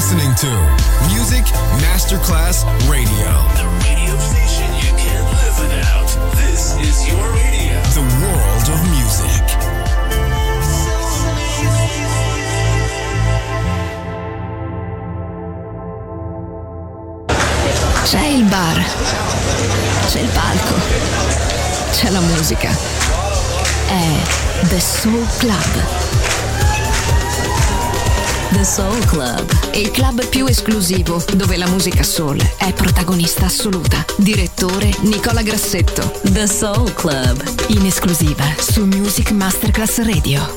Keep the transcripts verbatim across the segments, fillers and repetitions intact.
listening to Music Masterclass Radio. The radio station you can't live without. This is your radio. The world of music. C'è il bar, c'è il palco, c'è la musica. È The Soul Club. The Soul Club, il club più esclusivo dove la musica soul è protagonista assoluta. Direttore Nicola Grassetto. The Soul Club, in esclusiva su Music Masterclass Radio.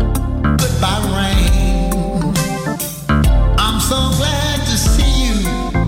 I'm so glad to see you.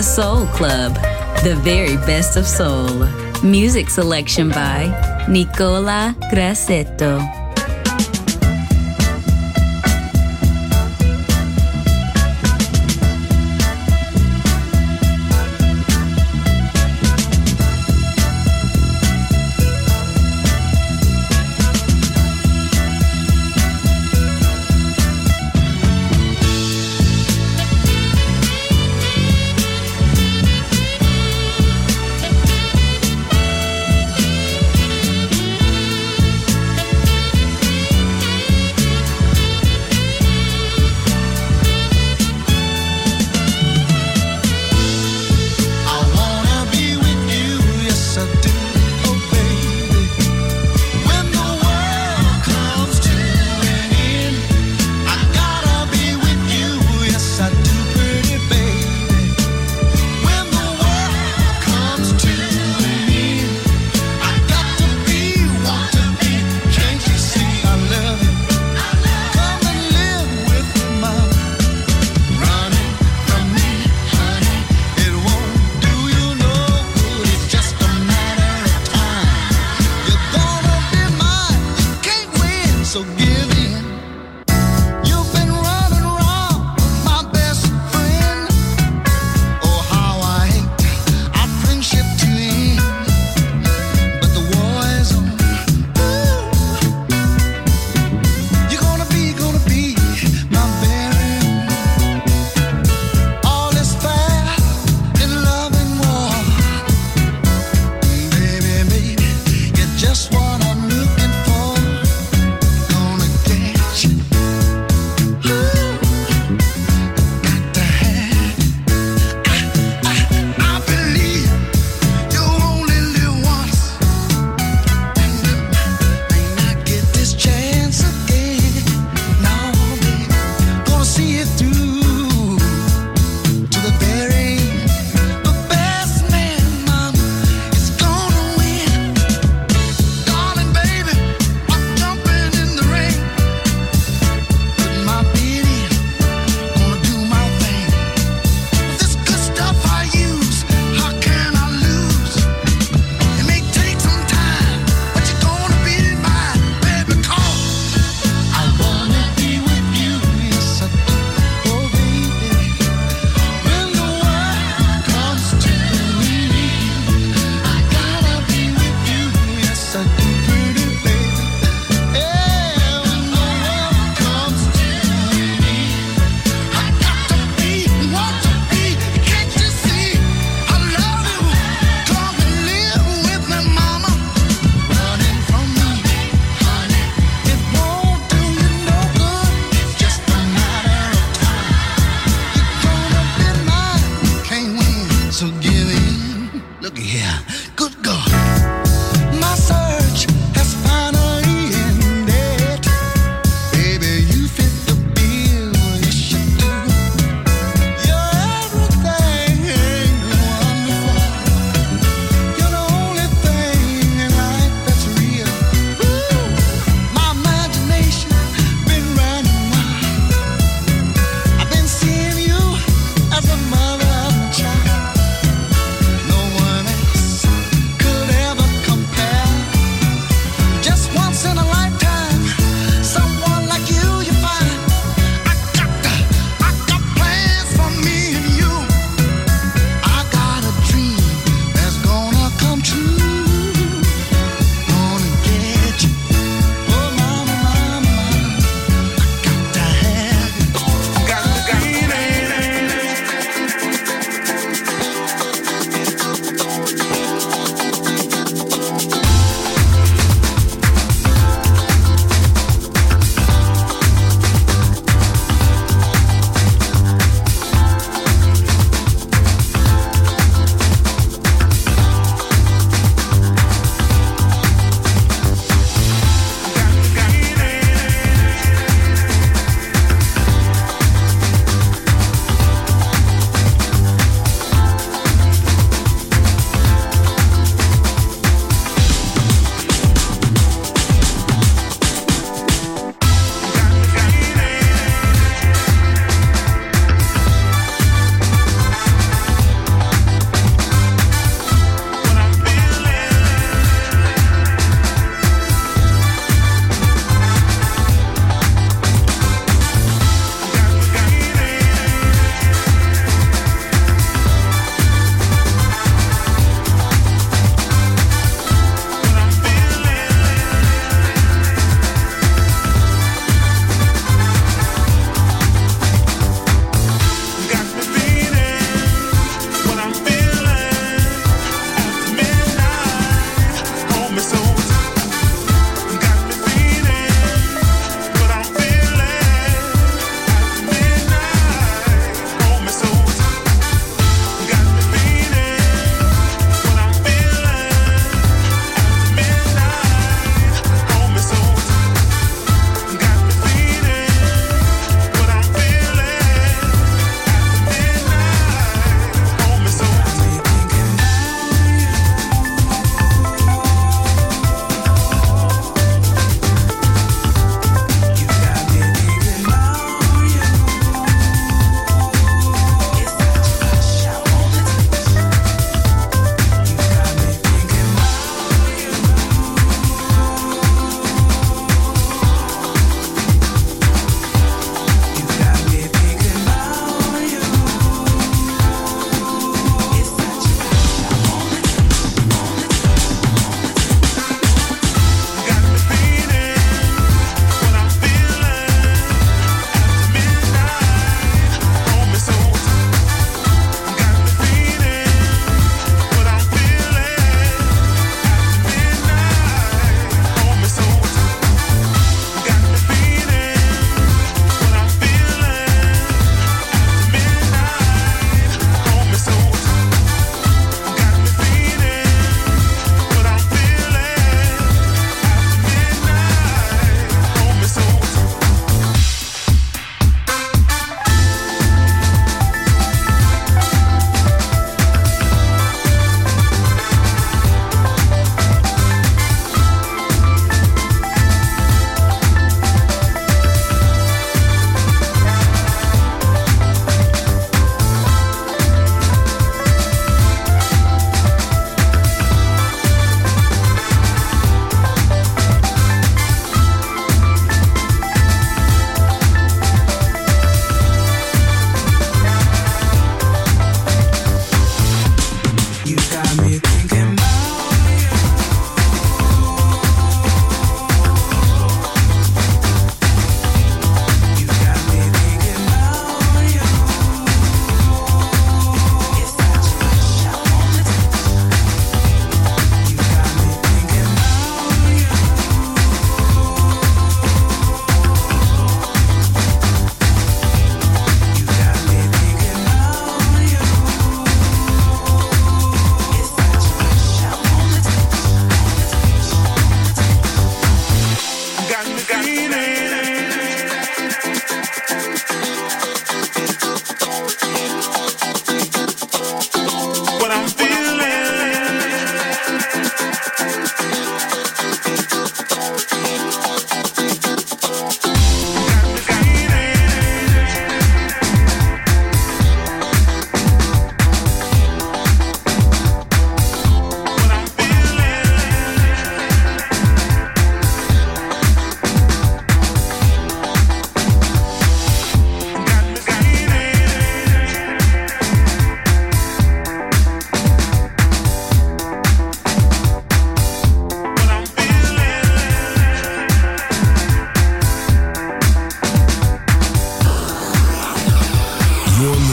The Soul Club, the very best of soul. Music selection by Nicola Grassetto.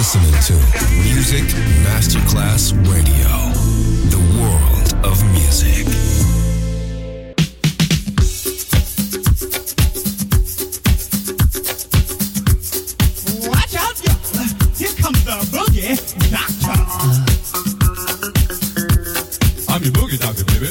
listening to Music Masterclass Radio, the world of music. Watch out, y'all. Here comes the boogie doctor. I'm your boogie doctor, baby.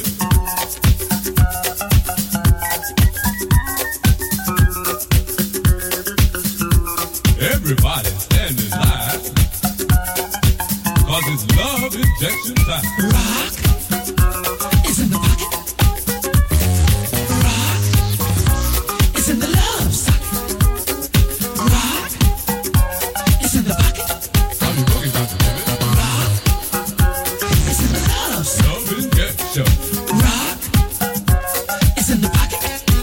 Everybody stand in line, cause it's love injection time. Rock is in the pocket. Rock is in the love socket. Rock is in the pocket. I'm your boogie doctor, baby. Rock is in the love socket. Love injection. Rock is in the pocket.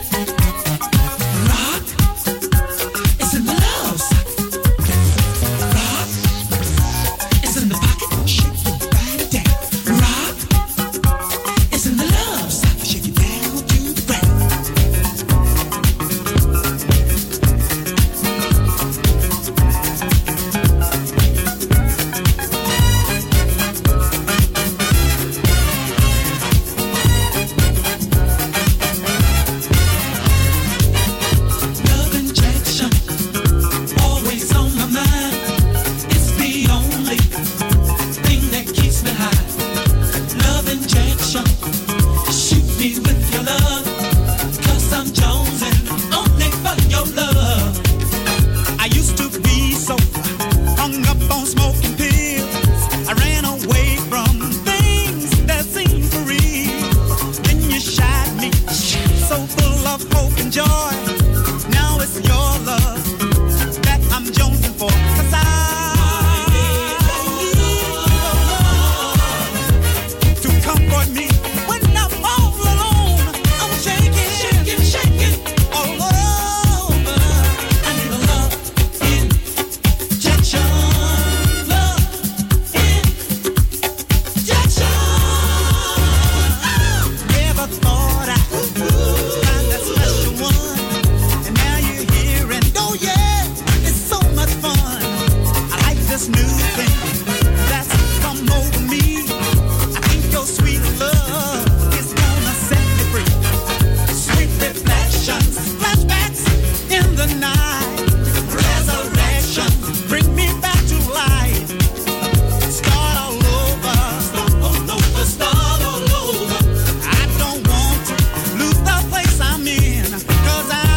Rock is in the love socket. Rock is in the pocket. Shake your body down. Rock is in the love socket. Shake it down to the ground. Love injection, always on my mind. It's the only thing that keeps me high. Love injection, shoot me with your love, 'cause I'm jonesing only for your love. I used to be so hung up on smoking pills. I ran away from things that seemed for real. Then you shot me, so full of hope and joy. Now it's your love that I'm jonesing for. 'Cause I need your love to comfort me when I'm all alone. I'm shaking, shaking, shaking all over. I need a love injection, love injection. Never thought I'd find that special one, and now you're here, and oh yeah, it's so much fun. I like this new thing that's come over me. I think your sweet love is gonna set me free. Sweet reflections, flashbacks in the night, resurrection, bring me back to life. Start all over, start all over, start all over. I don't want to lose the place I'm in, 'cause I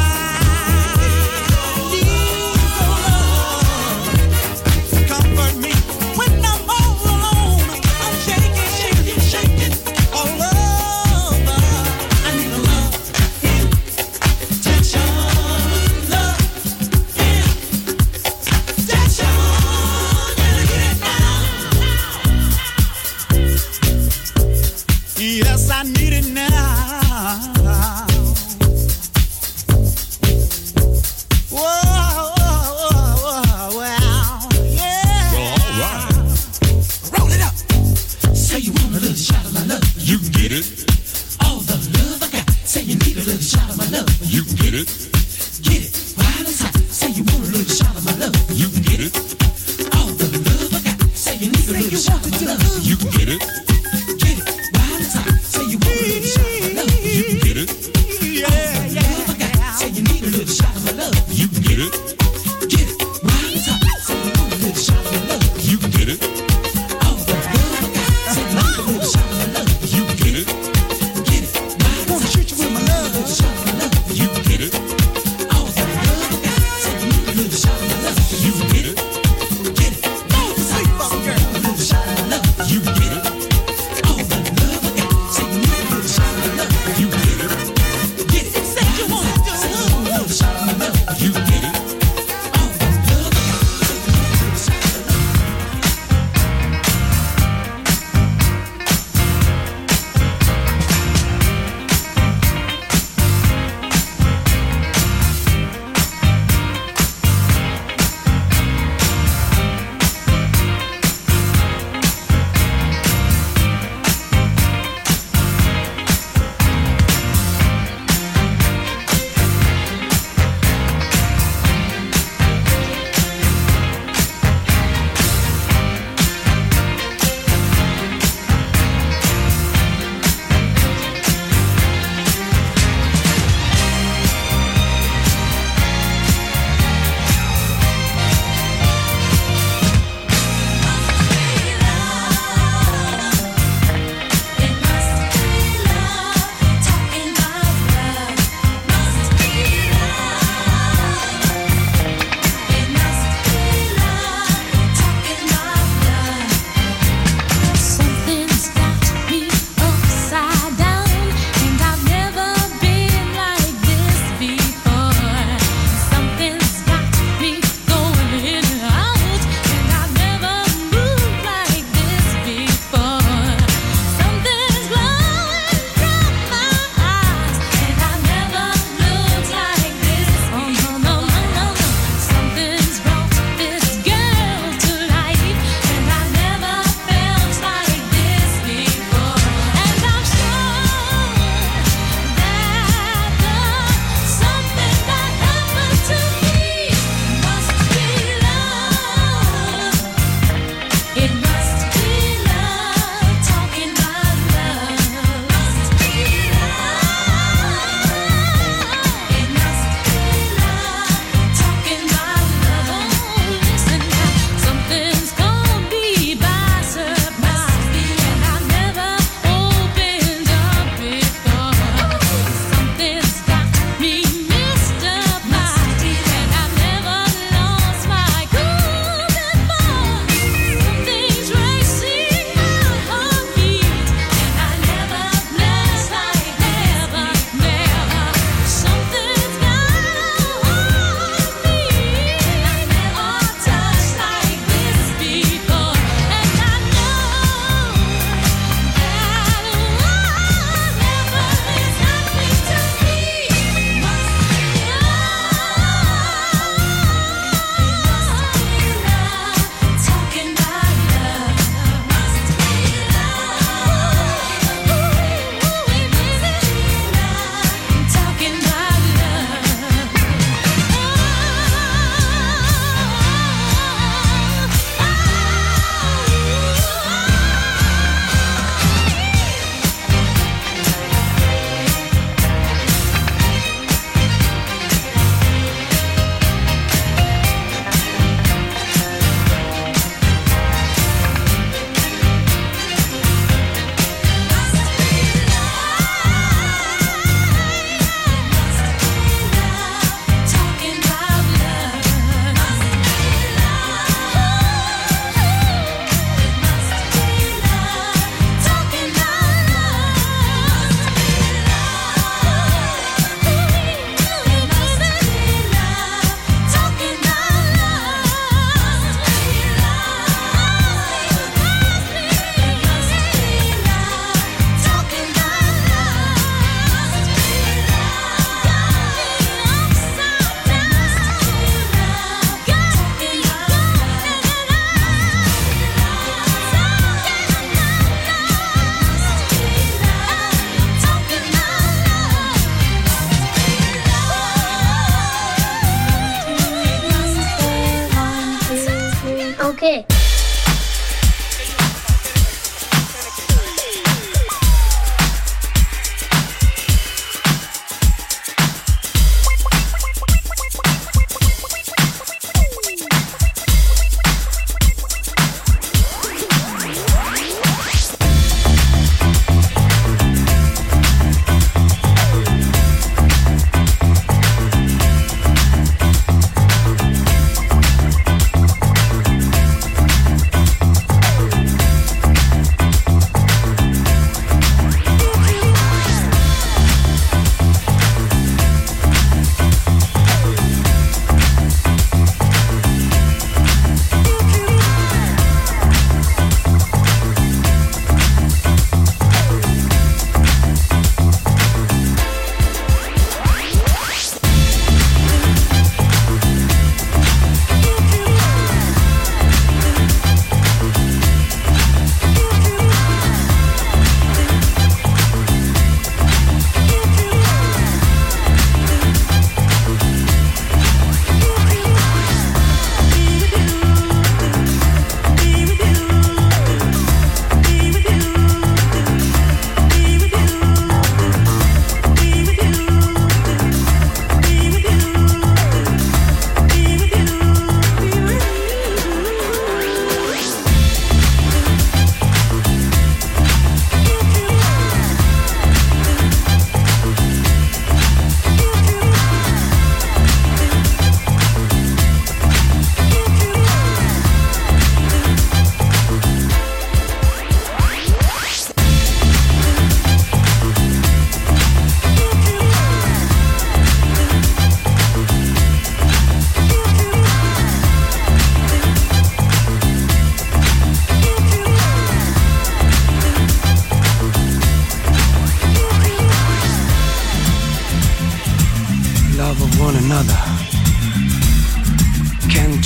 need your love to comfort me when I'm all alone. I'm shaking, shaking, shaking all over. I need a love injection, love injection. Gotta get it now. Yes, I need it now. Whoa, whoa, whoa, wow, yeah. Well, all right. Roll it up. Say you want a little shot of my love. You can get it. All the love I got. Say you need a little shot of my love. You can get it. Get it while it's hot. Say you want a little shot of my love. You can get it. All the love I got. Say you need a little shot of my love. You can get it. Get it while it's hot. Say you want a little shot of my love. You can get it. Yeah, yeah. Love I got. Say you need a little shot of my love. You can get it. Get it while it's hot. Say you want a little shot of my love. You can get it. All the love I got. Say you need a little shot of my love. You can get it. Get it while it's hot. Say you want a little shot of my love. You can get it. All the love I got. Say you need a little shot of my love. You can get it. Get it while it's hot. Say you want a little shot of my love. You can get it.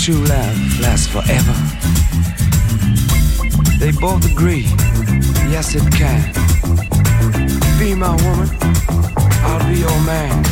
true love lasts forever? They both agree, yes it can. Be my woman, I'll be your man.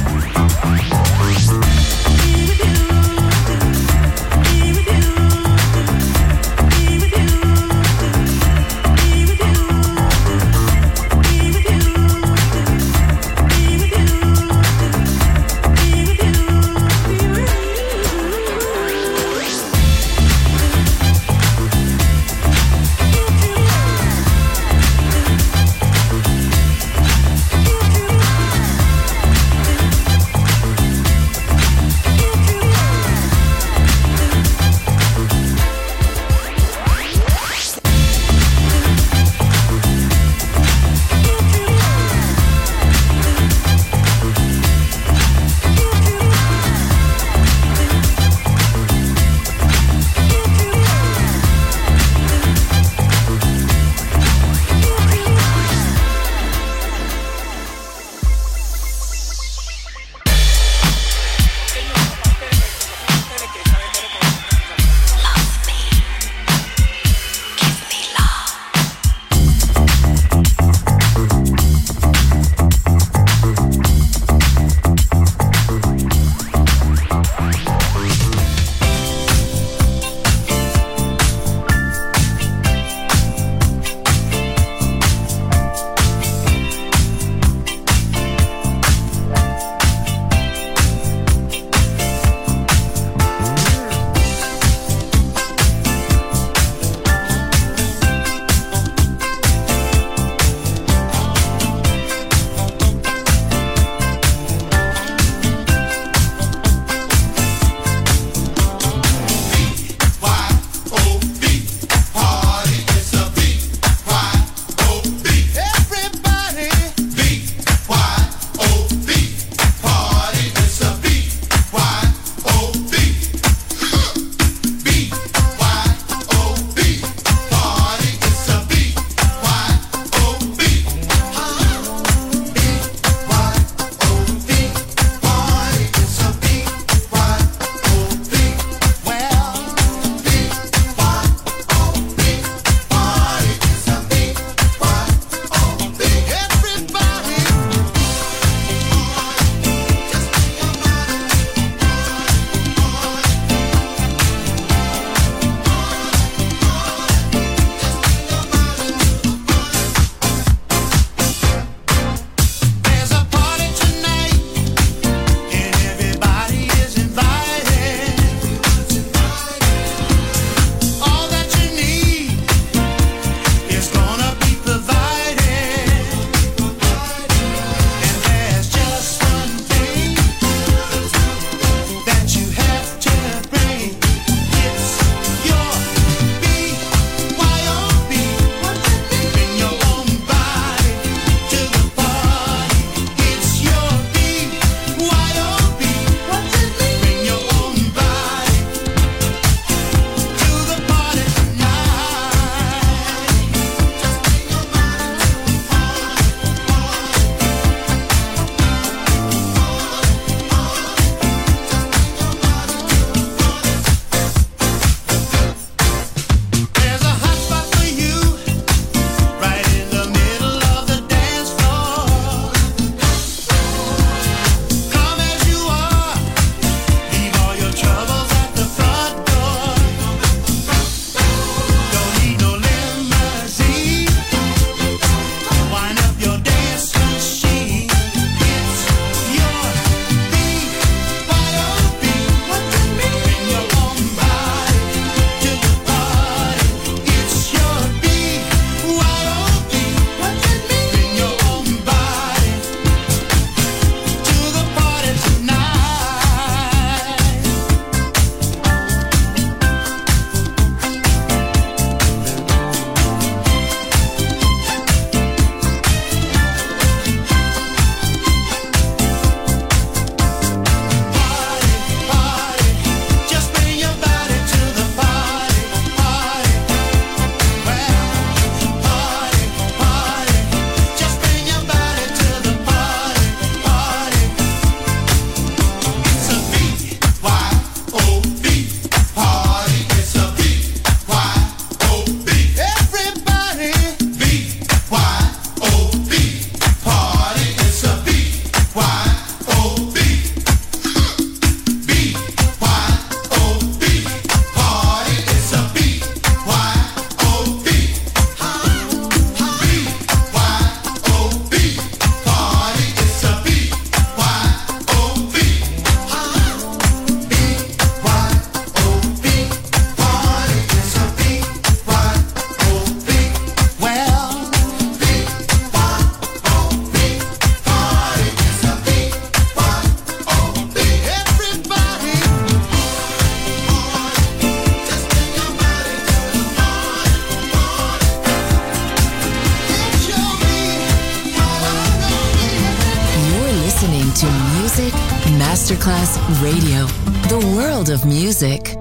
Masterclass Radio, the world of music.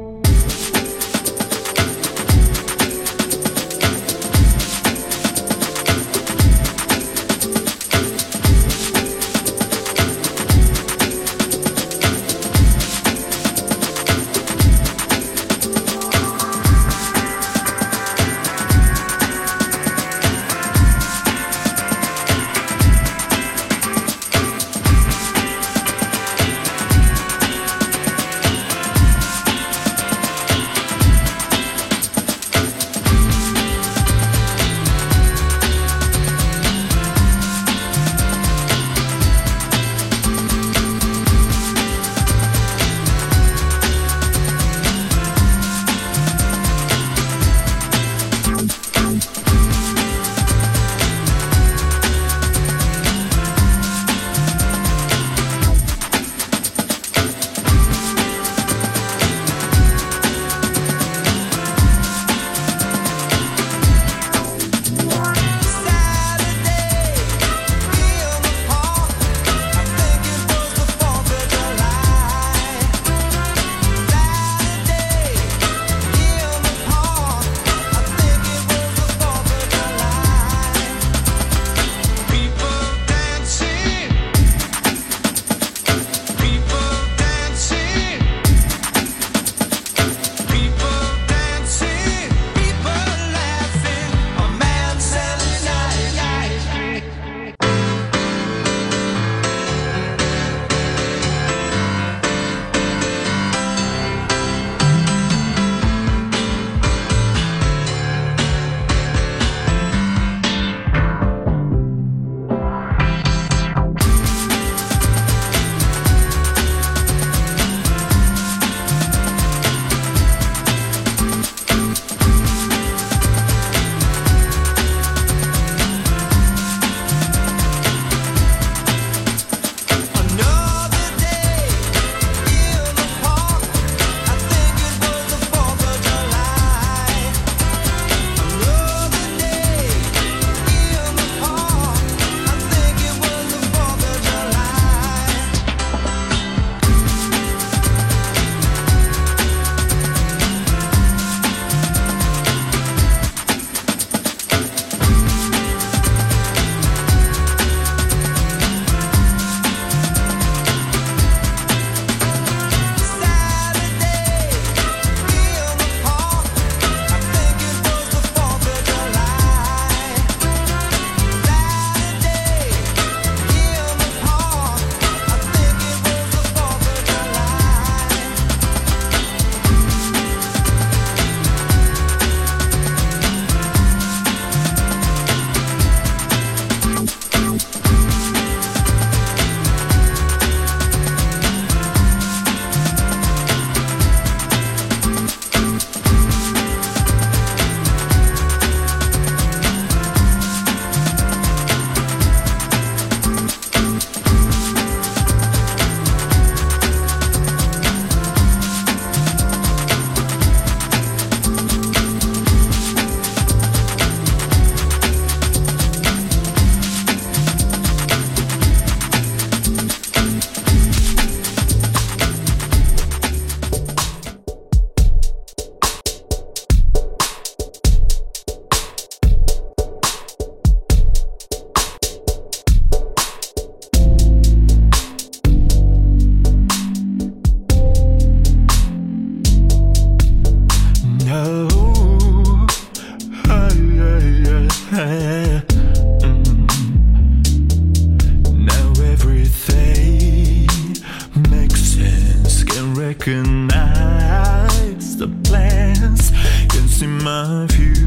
recognize the plans, can see my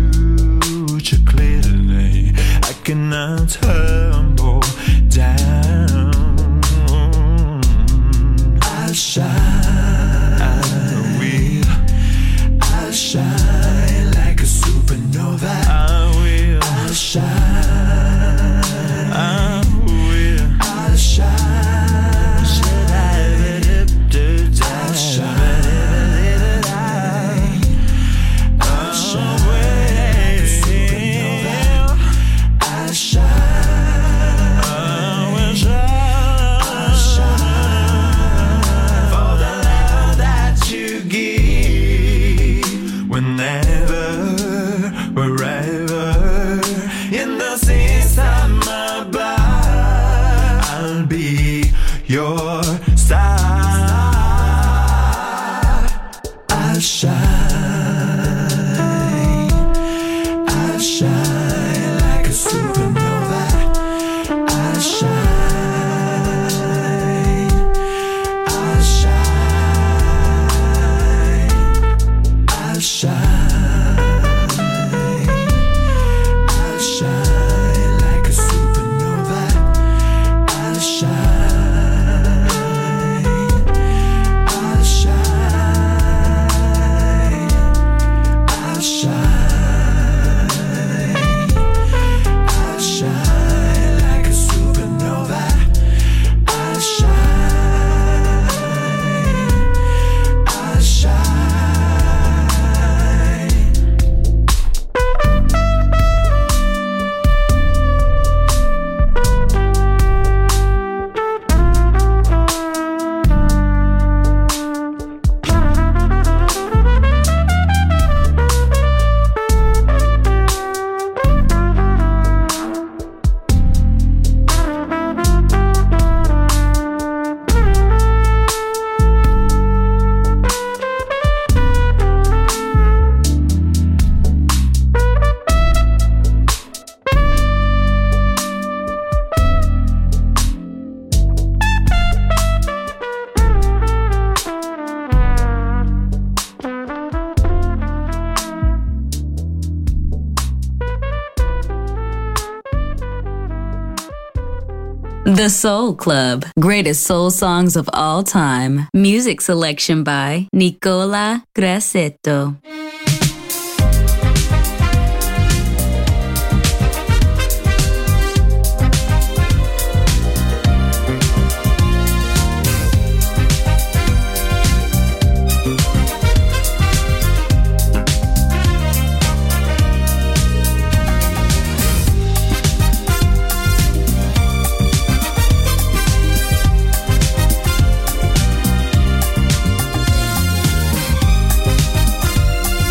future clearly. I cannot tumble down. I'll shine, I will. I'll shine like a supernova. I will. I'll shine, I will. I'll shine. Shine. The Soul Club. Greatest soul songs of all time. Music selection by Nicola Grassetto. Thank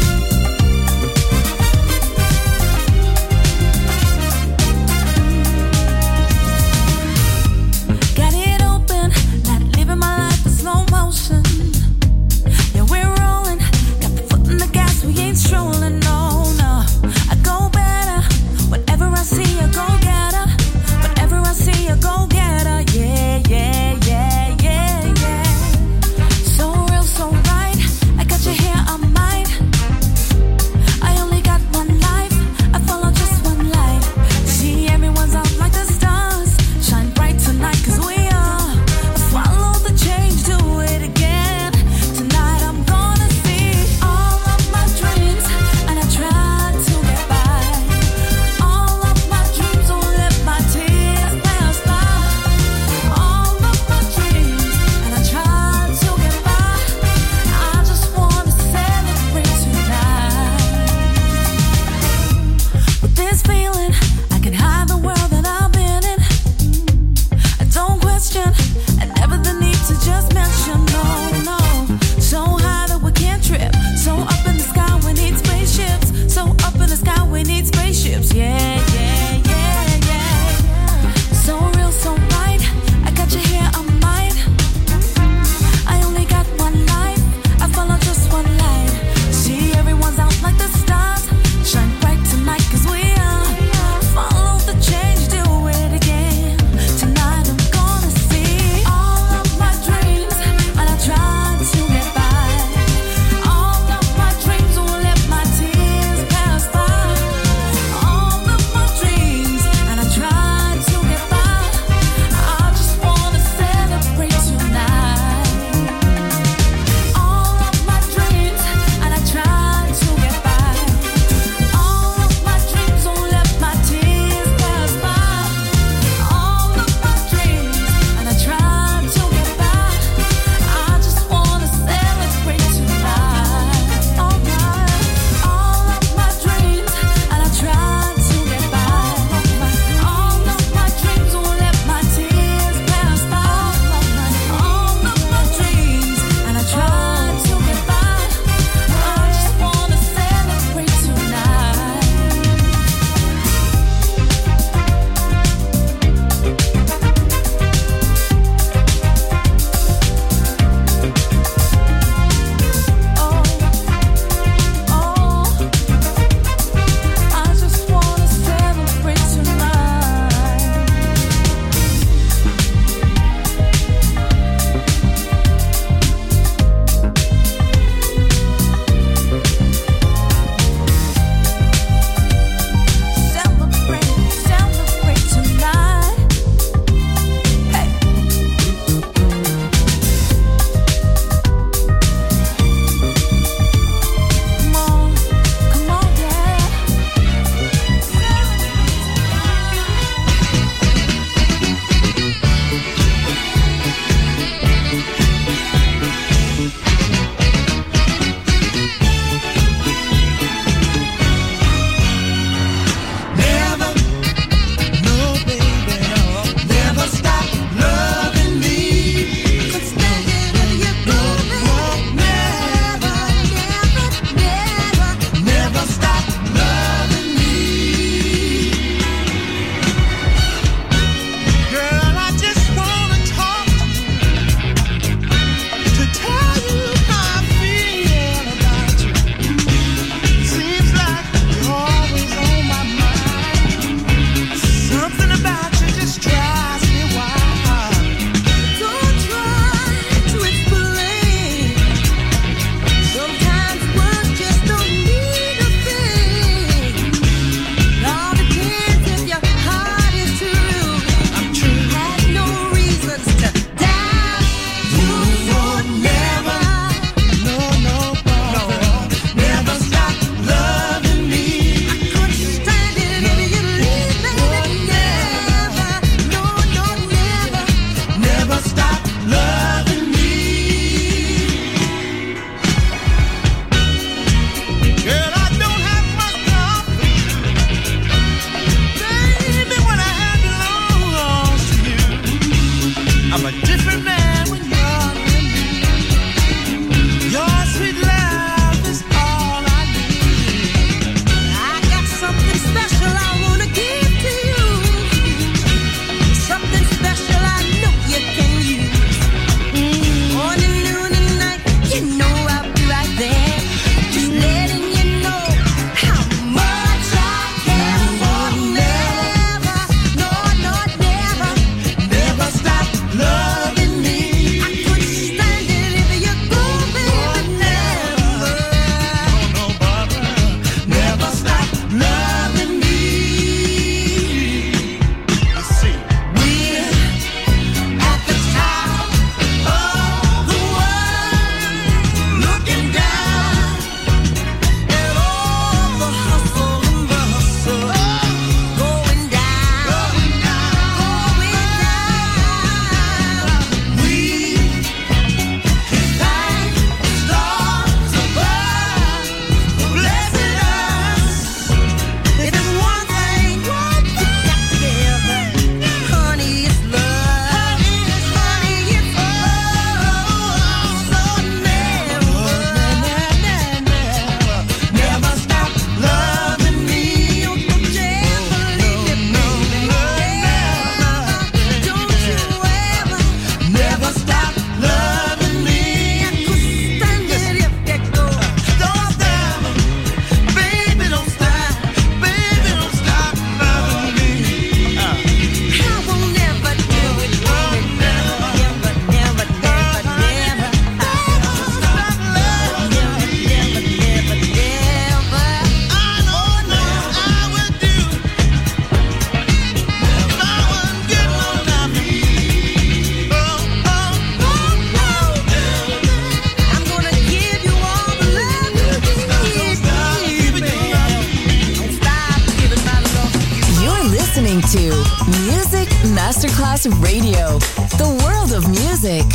Music Masterclass Radio. The world of music.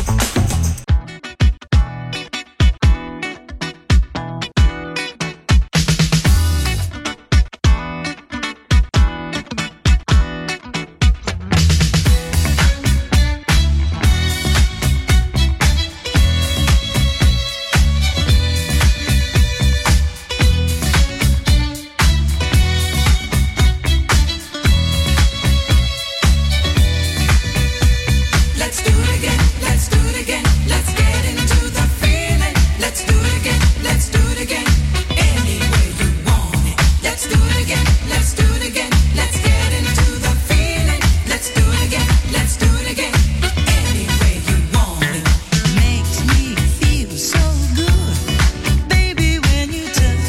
Let's do it again. Let's do it again. Let's get into the feeling. Let's do it again. Let's do it again. Any way you want it. Let's do it again. Let's do it again. Let's get into the feeling. Let's do it again. Let's do it again. Any way you want it. Makes me feel so good, baby, when you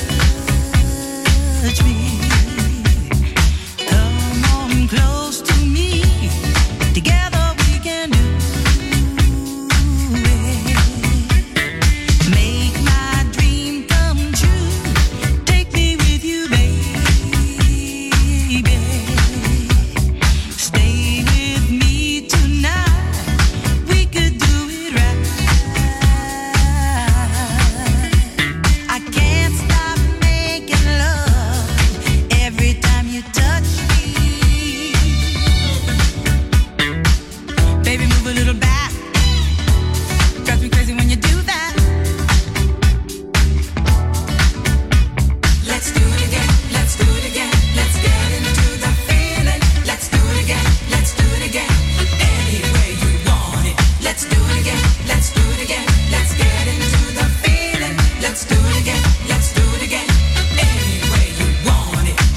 touch me. Come on close to me. Together we can do it. Make my dream come true. Take me with you, baby. Stay with me tonight. We could do it right. I can't stop making love every time you touch me. Baby, move a little back. Drives me crazy when you do that. Let's do it again. Let's do it again. Let's get into the feeling. Let's do it again. Let's do it again. Any way you want it. Let's do it again. Let's do it again. Let's get into the feeling. Let's do it again. Let's do it again. Any way you want it.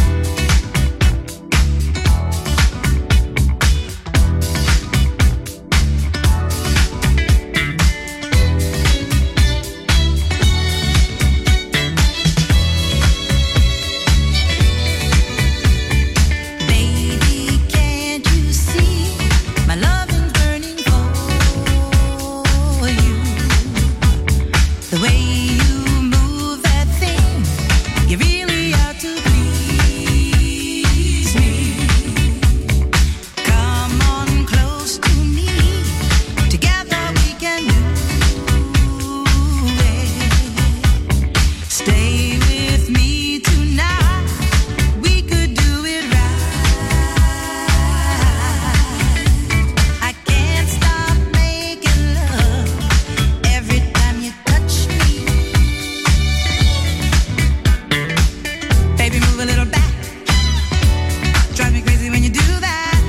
Baby, can't you see my love is burning for you? The way you move that thing, you really ought to please me. Come on close to me. Together we can do it. Stay with me tonight. We could do it right. I can't stop making love every time you touch me. Baby, move a little back. Drive me crazy when you do that.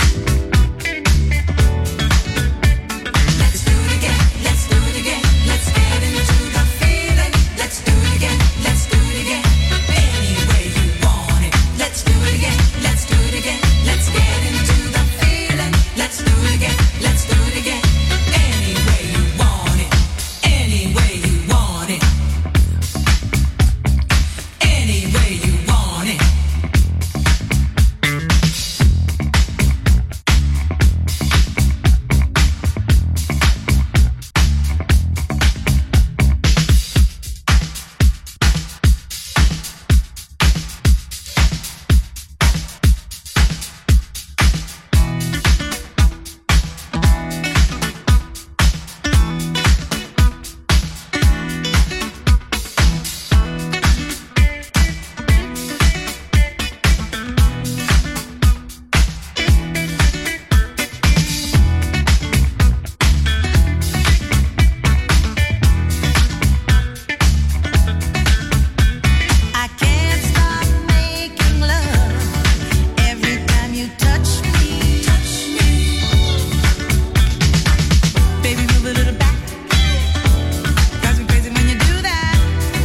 Let's do it again. Let's do it again. Let's get into the feeling. Let's do it again. Let's do it again. Any way you want it. Let's do it again. Let's do it again. Let's get into the feeling. Let's do it again. Let's do it again. Any way you want it. Any way you want it. Any way you want it. I can't stop making love every time you touch me. Touch me. Baby, move a little back. Drives me crazy when you do that.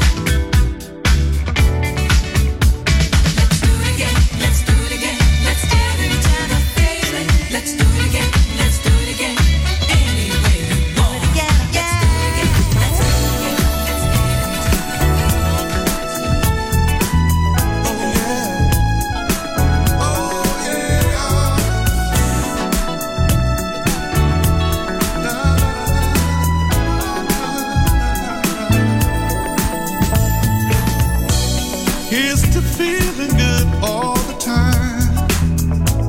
Let's do it again. Let's do it again. Let's get into the feeling. Let's do it again. Let's do it again. Any way you want it. Yeah, yeah. Let's do it again. Let's get Here's to feeling good all the time.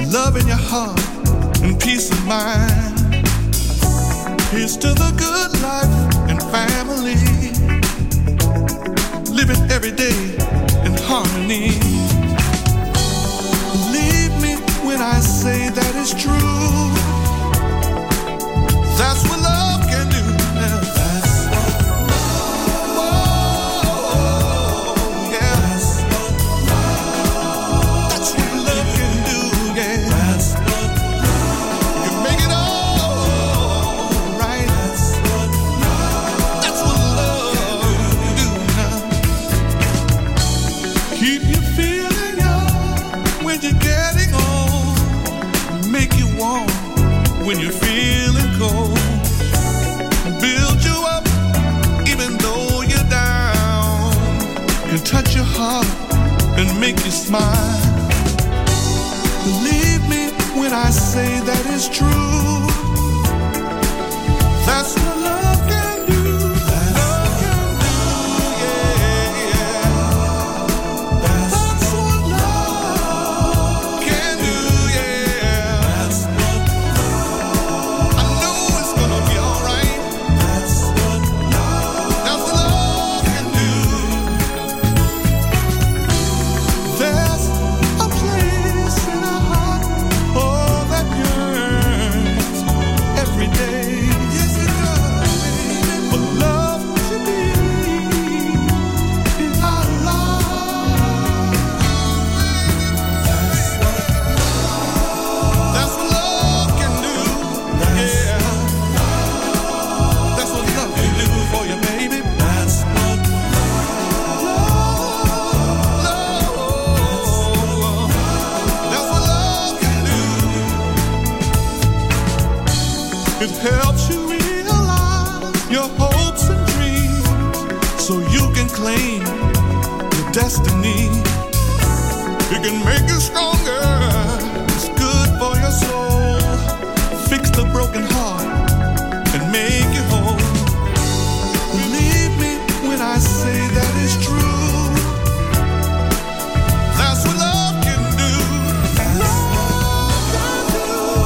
love in your heart and peace of mind. Here's to the good life and family, living every day in harmony. Believe me when I say that it's true. That's what love can do. Yeah, that's what love. Oh, yeah. That's what love. That's what love can do. Yeah, that's what love. You can make it all right. That's what love. That's what love can do. Now, keep you feeling young when you're getting old. Make you warm when you're feeling cold. Build you up even though you're down. And touch your heart and make you smile. Believe me when I say that it's true. That's what love can do. Love can do, yeah, yeah. That's what love can do, yeah. That's what I know it's gonna be alright. That's what love. That's what love can do. There's a place in our heart, oh, that yearns every day. Yes, it does. For love to be in our lives. That's what That's what love can do. Yeah. That's what love can do for you, baby. That's what love, love. That's what love can do. It helps you realize your hopes and dreams, so you can claim your destiny. It can make you stronger. It's good for your soul. Fix the broken heart and make you whole. Believe me when I say that it's true. That's what love can do. Love can do.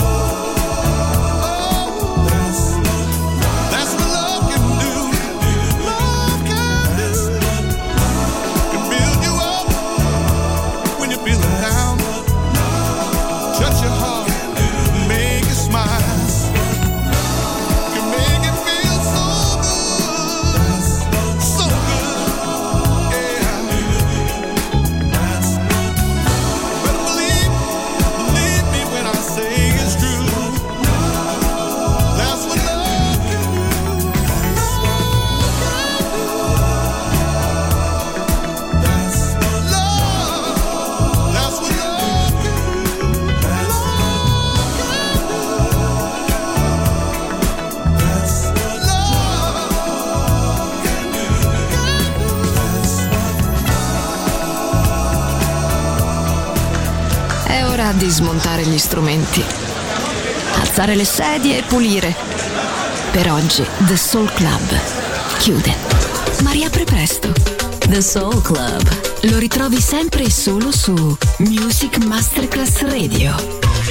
Oh, that's what that's what love can do. Love can do. Can build you up when you're feeling down. Touch your heart, make you smile. Can make it feel so good, so good, yeah. But believe, believe me when I say it's true. That's what love can do. That's what love. That's what love can do. That's what love can do. È ora di smontare gli strumenti, alzare le sedie e pulire. Per oggi The Soul Club chiude, ma riapre presto. The Soul Club. Lo ritrovi sempre e solo su Music Masterclass Radio.